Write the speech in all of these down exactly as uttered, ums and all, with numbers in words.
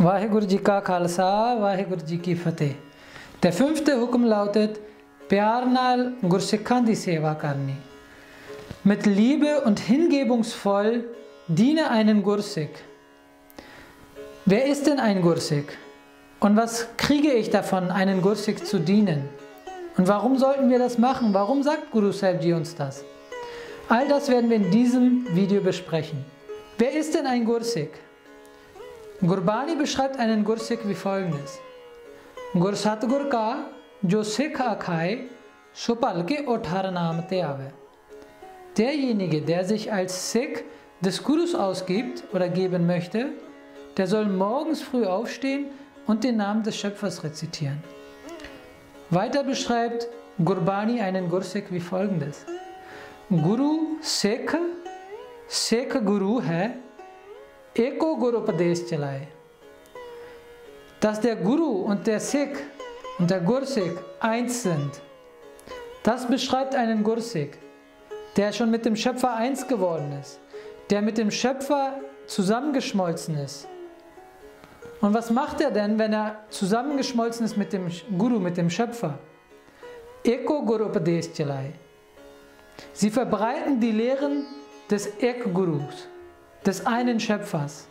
Vaheguru Ji Ka Khalsa, Vaheguru Ji Ki Fateh. Der fünfte Hukum lautet, Pyar naal Gursikhan die Seva karni. Mit Liebe und hingebungsvoll diene einen Gursikh. Wer ist denn ein Gursikh? Und was kriege ich davon, einen Gursikh zu dienen? Und warum sollten wir das machen? Warum sagt Guru Sahib Ji uns das? All das werden wir in diesem Video besprechen. Wer ist denn ein Gursikh? Gurbani beschreibt einen Gursikh wie folgendes. Gur Satgur ka jo Sikh akhai so palke uthar naam te aave. Derjenige, der sich als Sikh des Gurus ausgibt oder geben möchte, der soll morgens früh aufstehen und den Namen des Schöpfers rezitieren. Weiter beschreibt Gurbani einen Gursikh wie folgendes. Guru Sikh, Sikh Guru hai, eko Guru Upadesh chalaye. Dass der Guru und der Sikh und der Gursikh eins sind, das beschreibt einen Gursikh, der schon mit dem Schöpfer eins geworden ist, der mit dem Schöpfer zusammengeschmolzen ist. Und was macht er denn, wenn er zusammengeschmolzen ist mit dem Guru, mit dem Schöpfer? Eko Guru Upadesh chalaye. Sie verbreiten die Lehren des Ek-Gurus, des einen Schöpfers.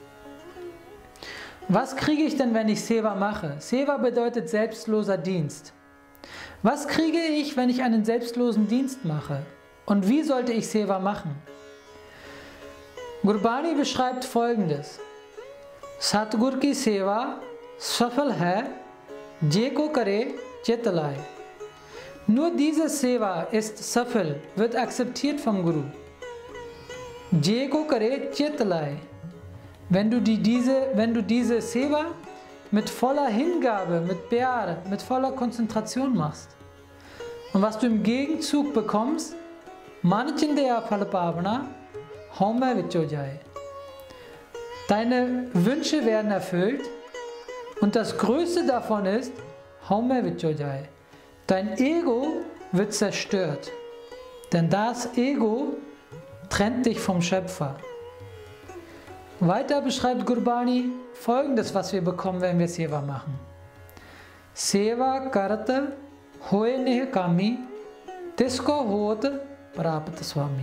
Was kriege ich denn, wenn ich Seva mache? Seva bedeutet selbstloser Dienst. Was kriege ich, wenn ich einen selbstlosen Dienst mache? Und wie sollte ich Seva machen? Gurbani beschreibt folgendes. Satgur ki Seva safal hai, je ko kare chit laye. Nur diese Seva ist safal, wird akzeptiert vom Guru. Je ko kare chit laye. Wenn du, die, diese, wenn du diese Seva mit voller Hingabe, mit Pyar, mit voller Konzentration machst. Und was du im Gegenzug bekommst, Manachindeya Phalapavana, Home Vicho Jai. Deine Wünsche werden erfüllt und das Größte davon ist, Home Vicho Jai. Dein Ego wird zerstört, denn das Ego trennt dich vom Schöpfer. Weiter beschreibt Gurbani folgendes, was wir bekommen, wenn wir Seva machen. Seva karta hoye neh kami, tisko hot prapt swami.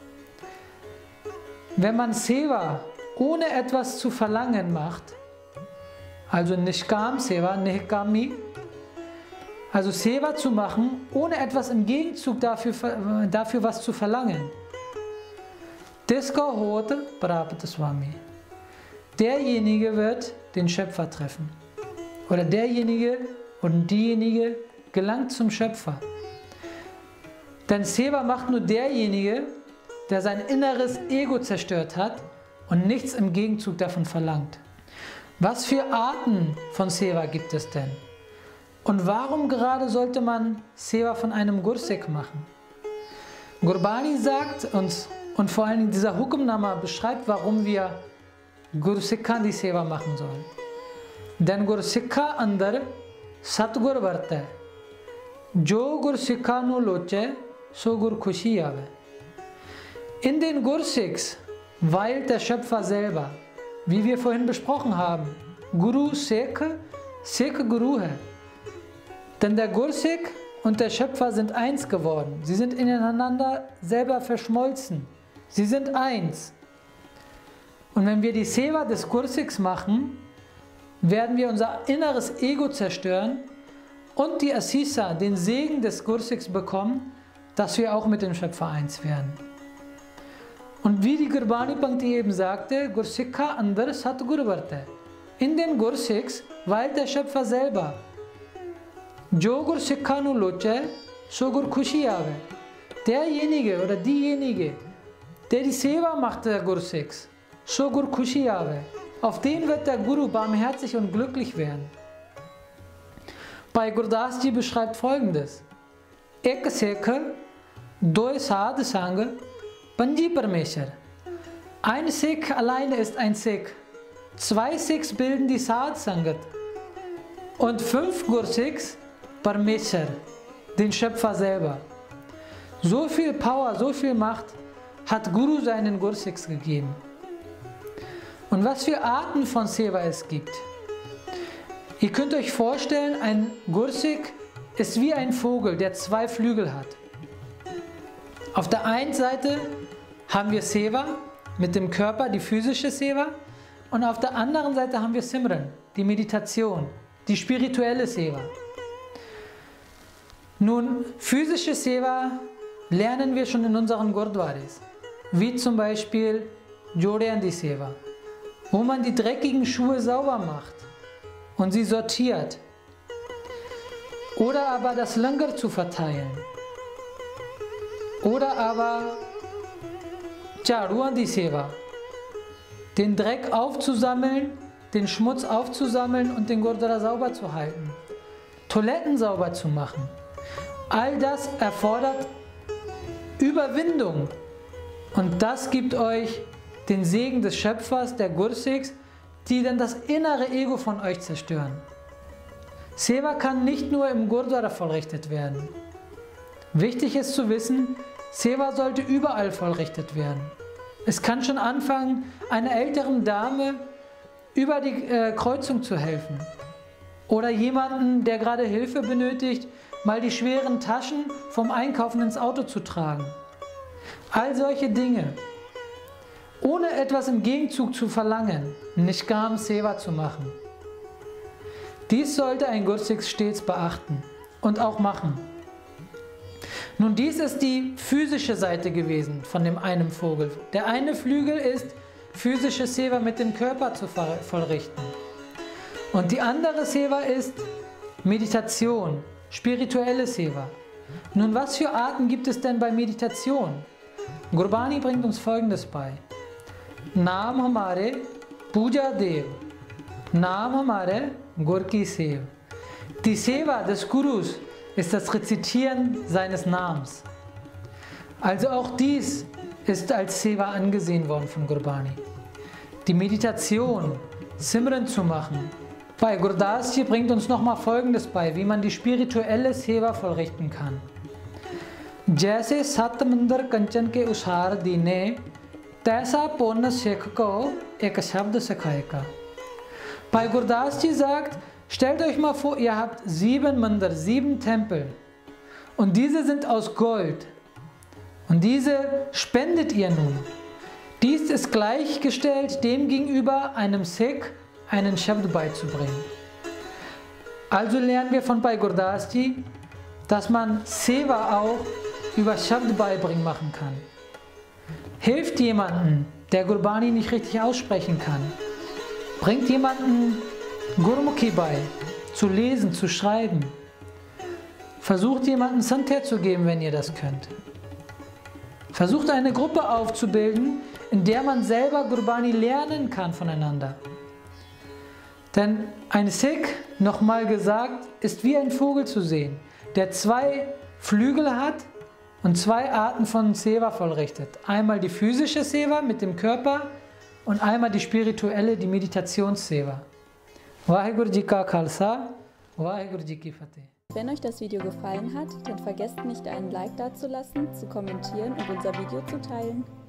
Wenn man Seva ohne etwas zu verlangen macht, also Nishkam Seva, Nihkami, also Seva zu machen, ohne etwas im Gegenzug dafür, dafür was zu verlangen, Tisko hot prapt swami. Derjenige wird den Schöpfer treffen. Oder derjenige und diejenige gelangt zum Schöpfer. Denn Seva macht nur derjenige, der sein inneres Ego zerstört hat und nichts im Gegenzug davon verlangt. Was für Arten von Seva gibt es denn? Und warum gerade sollte man Seva von einem Gursikh machen? Gurbani sagt uns, und vor allem dieser Hukumnama beschreibt, warum wir Gursikhan die Seva machen sollen. Denn Gursikha andar Satgur varte. Jo Gursikha nu loche, so Gur Khushi aave. In den Gursikhs weilt der Schöpfer selber, wie wir vorhin besprochen haben. Guru Sikh, Sikh Guru hai. Denn der Gursikh und der Schöpfer sind eins geworden. Sie sind ineinander selber verschmolzen. Sie sind eins. Und wenn wir die Seva des Gursikhs machen, werden wir unser inneres Ego zerstören und die Asisa, den Segen des Gursikhs bekommen, dass wir auch mit dem Schöpfer eins werden. Und wie die Gurbani Pankti eben sagte, Gursikha andar Satgur varte. In den Gursikhs weilt der Schöpfer selber. Jo Gursikha nu loche, so Gur Khushi aave. Derjenige oder diejenige, der die Seva macht der Gursikhs, so Gur Khushi aave. Auf den wird der Guru barmherzig und glücklich werden. Bhai Gurdas Ji beschreibt folgendes. Ek Sikh, doy Sadh Sang, Panji Parmeshwar. Ein Sikh alleine ist ein Sikh. Zwei Sikhs bilden die Sadh Sangat. Und fünf Gursikhs Parmeshwar, den Schöpfer selber. So viel Power, so viel Macht hat Guru seinen Gursikhs gegeben. Und was für Arten von Seva es gibt. Ihr könnt euch vorstellen, ein Gursik ist wie ein Vogel, der zwei Flügel hat. Auf der einen Seite haben wir Seva mit dem Körper, die physische Seva, und auf der anderen Seite haben wir Simran, die Meditation, die spirituelle Seva. Nun, physische Seva lernen wir schon in unseren Gurdwaris, wie zum Beispiel Jodhyandi Seva, wo man die dreckigen Schuhe sauber macht und sie sortiert. Oder aber das Langar zu verteilen. Oder aber Jhaduandi Seva, den Dreck aufzusammeln, den Schmutz aufzusammeln und den Gurdwara sauber zu halten. Toiletten sauber zu machen. All das erfordert Überwindung. Und das gibt euch den Segen des Schöpfers, der Gursiks, die dann das innere Ego von euch zerstören. Seva kann nicht nur im Gurdwara vollrichtet werden. Wichtig ist zu wissen, Seva sollte überall vollrichtet werden. Es kann schon anfangen, einer älteren Dame über die äh, Kreuzung zu helfen. Oder jemanden, der gerade Hilfe benötigt, mal die schweren Taschen vom Einkaufen ins Auto zu tragen. All solche Dinge. Ohne etwas im Gegenzug zu verlangen, Nishkam Seva zu machen. Dies sollte ein Gursik stets beachten und auch machen. Nun, dies ist die physische Seite gewesen von dem einen Vogel. Der eine Flügel ist, physische Seva mit dem Körper zu vollrichten. Und die andere Seva ist Meditation, spirituelle Seva. Nun, was für Arten gibt es denn bei Meditation? Gurbani bringt uns Folgendes bei. Naam hamare Puja Dev, Naam hamare Gur ki Sev. Die Seva des Gurus ist das Rezitieren seines Namens. Also auch dies ist als Seva angesehen worden von Gurbani. Die Meditation, Simran zu machen. Bei Gurdas hier bringt uns nochmal Folgendes bei, wie man die spirituelle Seva vollrichten kann. Jaise sat mandar kanchan ke ushar dine, taisa ponna sekh ko ek shabd sikhayega. Bei Gurdas ji sagt, stellt euch mal vor, ihr habt sieben Mandar, sieben Tempel und diese sind aus Gold und diese spendet ihr nun. Dies ist gleichgestellt dem gegenüber einem Sikh einen Shabd beizubringen. Also lernen wir von Bhai Gurdas Ji, dass man Seva auch über Shabd beibringen machen kann. Hilft jemanden, der Gurbani nicht richtig aussprechen kann. Bringt jemanden Gurmukhi bei, zu lesen, zu schreiben. Versucht jemanden Santer zu geben, wenn ihr das könnt. Versucht eine Gruppe aufzubilden, in der man selber Gurbani lernen kann voneinander. Denn ein Sikh, nochmal gesagt, ist wie ein Vogel zu sehen, der zwei Flügel hat und zwei Arten von Seva vollrichtet. Einmal die physische Seva mit dem Körper und einmal die spirituelle, die Meditations-Seva. Vaheguru Ji Ka Khalsa, Vaheguru Ji Ki Fateh. Wenn euch das Video gefallen hat, dann vergesst nicht, einen Like dazulassen, zu kommentieren und unser Video zu teilen.